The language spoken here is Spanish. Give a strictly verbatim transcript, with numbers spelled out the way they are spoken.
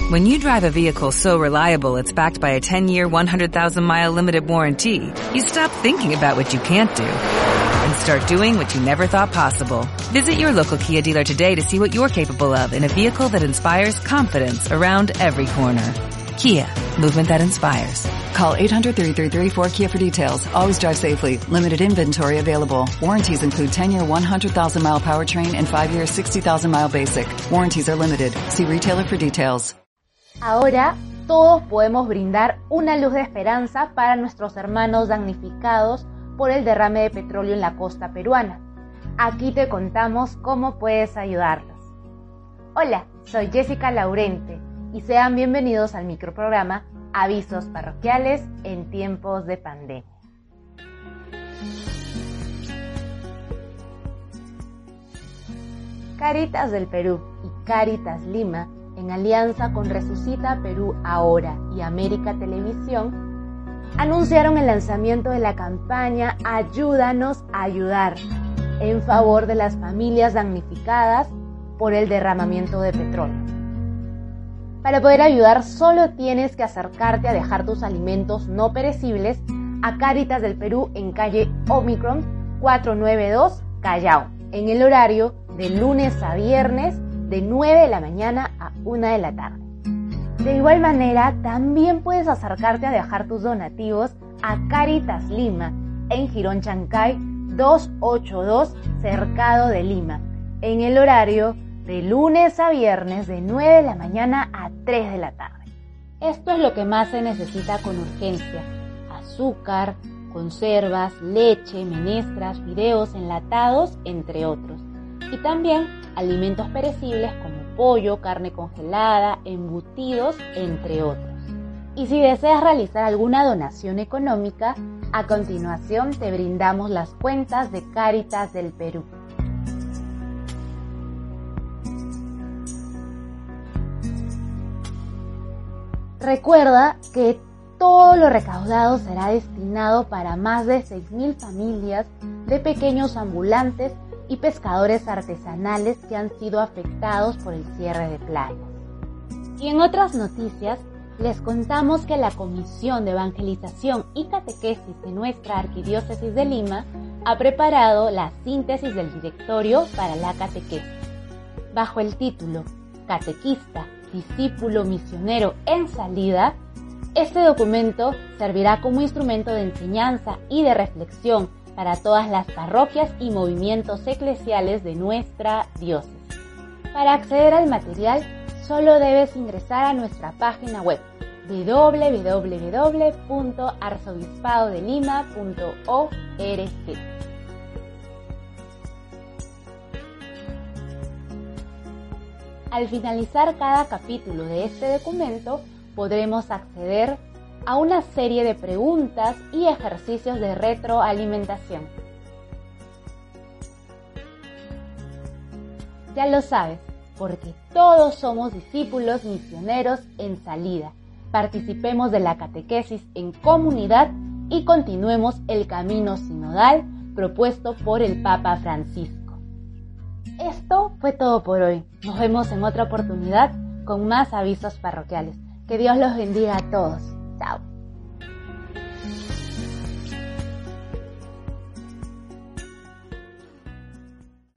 When you drive a vehicle so reliable it's backed by a ten-year, one hundred thousand mile limited warranty, you stop thinking about what you can't do and start doing what you never thought possible. Visit your local Kia dealer today to see what you're capable of in a vehicle that inspires confidence around every corner. Kia, movement that inspires. Call eight hundred, three three three, four K I A for details. Always drive safely. Limited inventory available. Warranties include ten-year, one hundred thousand mile powertrain and five-year, sixty thousand mile basic. Warranties are limited. See retailer for details. Ahora, todos podemos brindar una luz de esperanza para nuestros hermanos damnificados por el derrame de petróleo en la costa peruana. Aquí te contamos cómo puedes ayudarlos. Hola, soy Jessica Laurente y sean bienvenidos al microprograma Avisos Parroquiales en tiempos de pandemia. Cáritas del Perú y Cáritas Lima, en alianza con Resucita Perú Ahora y América Televisión, anunciaron el lanzamiento de la campaña Ayúdanos a Ayudar, en favor de las familias damnificadas por el derramamiento de petróleo. Para poder ayudar, solo tienes que acercarte a dejar tus alimentos no perecibles a Cáritas del Perú en calle Omicron cuatrocientos noventa y dos, Callao, en el horario de lunes a viernes de nueve de la mañana a una de la tarde. De igual manera, también puedes acercarte a dejar tus donativos a Cáritas Lima en Girón Chancay doscientos ochenta y dos, Cercado de Lima, en el horario de lunes a viernes de nueve de la mañana a tres de la tarde. Esto es lo que más se necesita con urgencia: azúcar, conservas, leche, menestras, fideos enlatados, entre otros. Y también alimentos perecibles como pollo, carne congelada, embutidos, entre otros. Y si deseas realizar alguna donación económica, a continuación te brindamos las cuentas de Cáritas del Perú. Recuerda que todo lo recaudado será destinado para más de seis mil familias de pequeños ambulantes y pescadores artesanales que han sido afectados por el cierre de playas. Y en otras noticias, les contamos que la Comisión de Evangelización y Catequesis de nuestra Arquidiócesis de Lima ha preparado la síntesis del directorio para la catequesis. Bajo el título Catequista, discípulo misionero en salida, este documento servirá como instrumento de enseñanza y de reflexión para todas las parroquias y movimientos eclesiales de nuestra diócesis. Para acceder al material, solo debes ingresar a nuestra página web doble u doble u doble u punto arzobispado de lima punto org. Al finalizar cada capítulo de este documento, podremos acceder a una serie de preguntas y ejercicios de retroalimentación. Ya lo sabes, porque todos somos discípulos misioneros en salida. Participemos de la catequesis en comunidad y continuemos el camino sinodal propuesto por el Papa Francisco. Esto fue todo por hoy. Nos vemos en otra oportunidad con más avisos parroquiales. Que Dios los bendiga a todos. Chao.